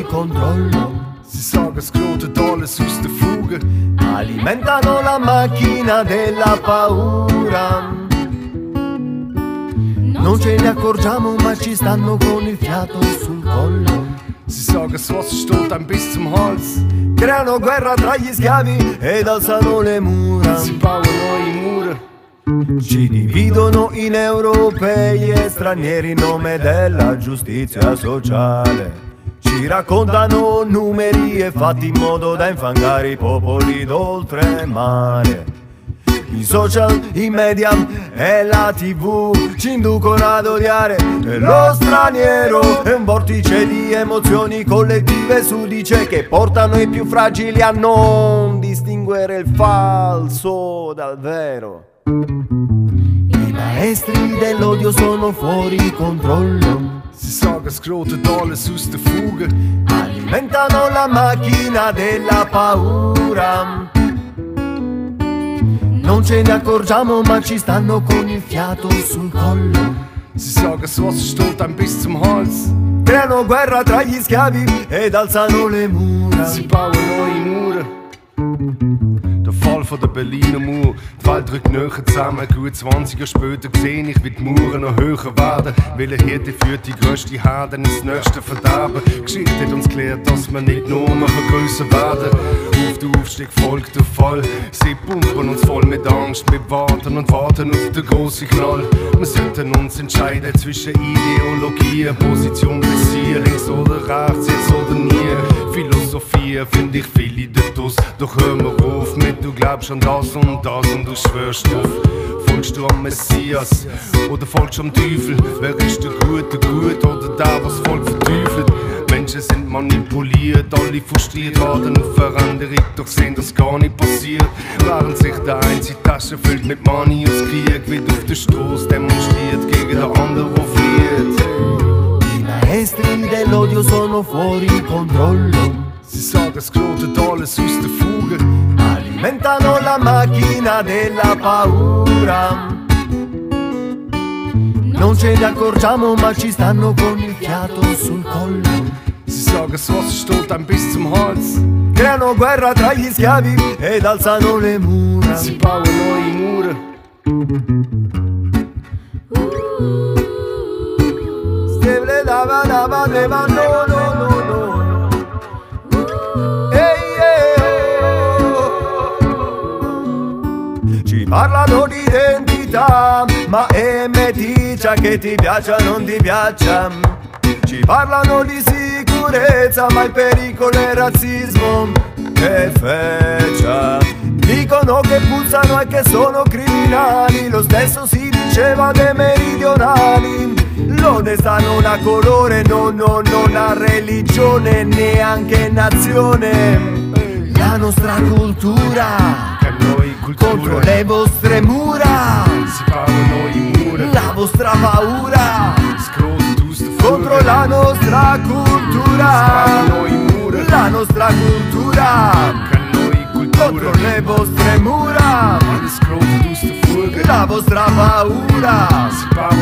fuori controllo. Si sa che scroto alles aus der Fuge, alimentano la macchina della paura. Non ce ne accorgiamo ma ci stanno con il fiato sul collo. Sie sagen, das Wasser steht einem bis zum Hals. Creano guerra tra gli schiavi ed alzano le mura. Sie bauen neue Mauern. Ci dividono in europei e stranieri in nome della giustizia sociale. Ci raccontano numeri e fatti in modo da infangare i popoli d'oltremare. I social, i media e la TV ci inducono ad odiare lo straniero. È un vortice di emozioni collettive sudice che portano i più fragili a non distinguere il falso dal vero. I maestri dell'odio sono fuori controllo. Sie sagen, scrotet alles aus der Fuge, alimentano la macchina della paura. Non ce ne accorgiamo ma ci stanno con il fiato sul collo. Sie sagen, das Wasser steht einem bis zum Hals. Creano guerra tra gli schiavi ed alzano le mura. Sie bauen neue Mauern. Der Fall von der Berliner Mauer, die Welt rückt näher zusammen. Gut 20 Jahre später sehe ich, wie die Mauern noch höher werden. Weil eine Hirte führt die grösste Herde ins nächste Verderben. Die Geschichte hat uns gelehrt, dass wir nicht nur noch grösser werden. Auf den Aufstieg folgt der Fall. Sie pumpen uns voll mit Angst. Wir warten und warten auf den grossen Knall. Wir sollten uns entscheiden zwischen Ideologien, Position bis hier, links oder rechts, jetzt oder nie. Philosophie finde ich viele dort. Doch hör mir auf mit, du glaubst an das und du schwörst drauf. Folgst du am Messias oder folgst du am Teufel? Wer ist der Gute gut oder der, was Volk verteufelt? Menschen sind manipuliert, alle frustriert, warten auf Veränderung, doch sehen, dass gar nicht passiert. Während sich der eine die Tasche füllt mit Money aus Krieg, wird auf der Straße demonstriert gegen den anderen, der flieht. I maestri dell'odio sono fuori controllo. Sie sagen, scrotet alles aus der Fuge, alimentano la macchina della paura. Non ce ne accorgiamo ma ci stanno con il fiato sul collo. Sie sagen, das Wasser steht einem bis zum Hals. Creano guerra tra gli schiavi ed alzano le mura. Sie bauen neue Mauern. Stevle dava dava deva no no no no. Ci parlano di identità, ma meticcia che ti piaccia o non ti piaccia. Ci parlano di sicurezza, ma il pericolo è il razzismo. Che feccia. Dicono che puzzano e che sono criminali. Lo stesso si diceva dei meridionali. L'onestà non ha colore, non ha religione, neanche nazione. La nostra cultura contro le vostre mura. Sie bauen neue Mauern. La vostra paura Scrotet aus der Fuge, contro la nostra cultura. Sie bauen neue Mauern. La nostra cultura contro le vostre mura. Alles scrotet aus der Fuge, La vostra paura Sie bauen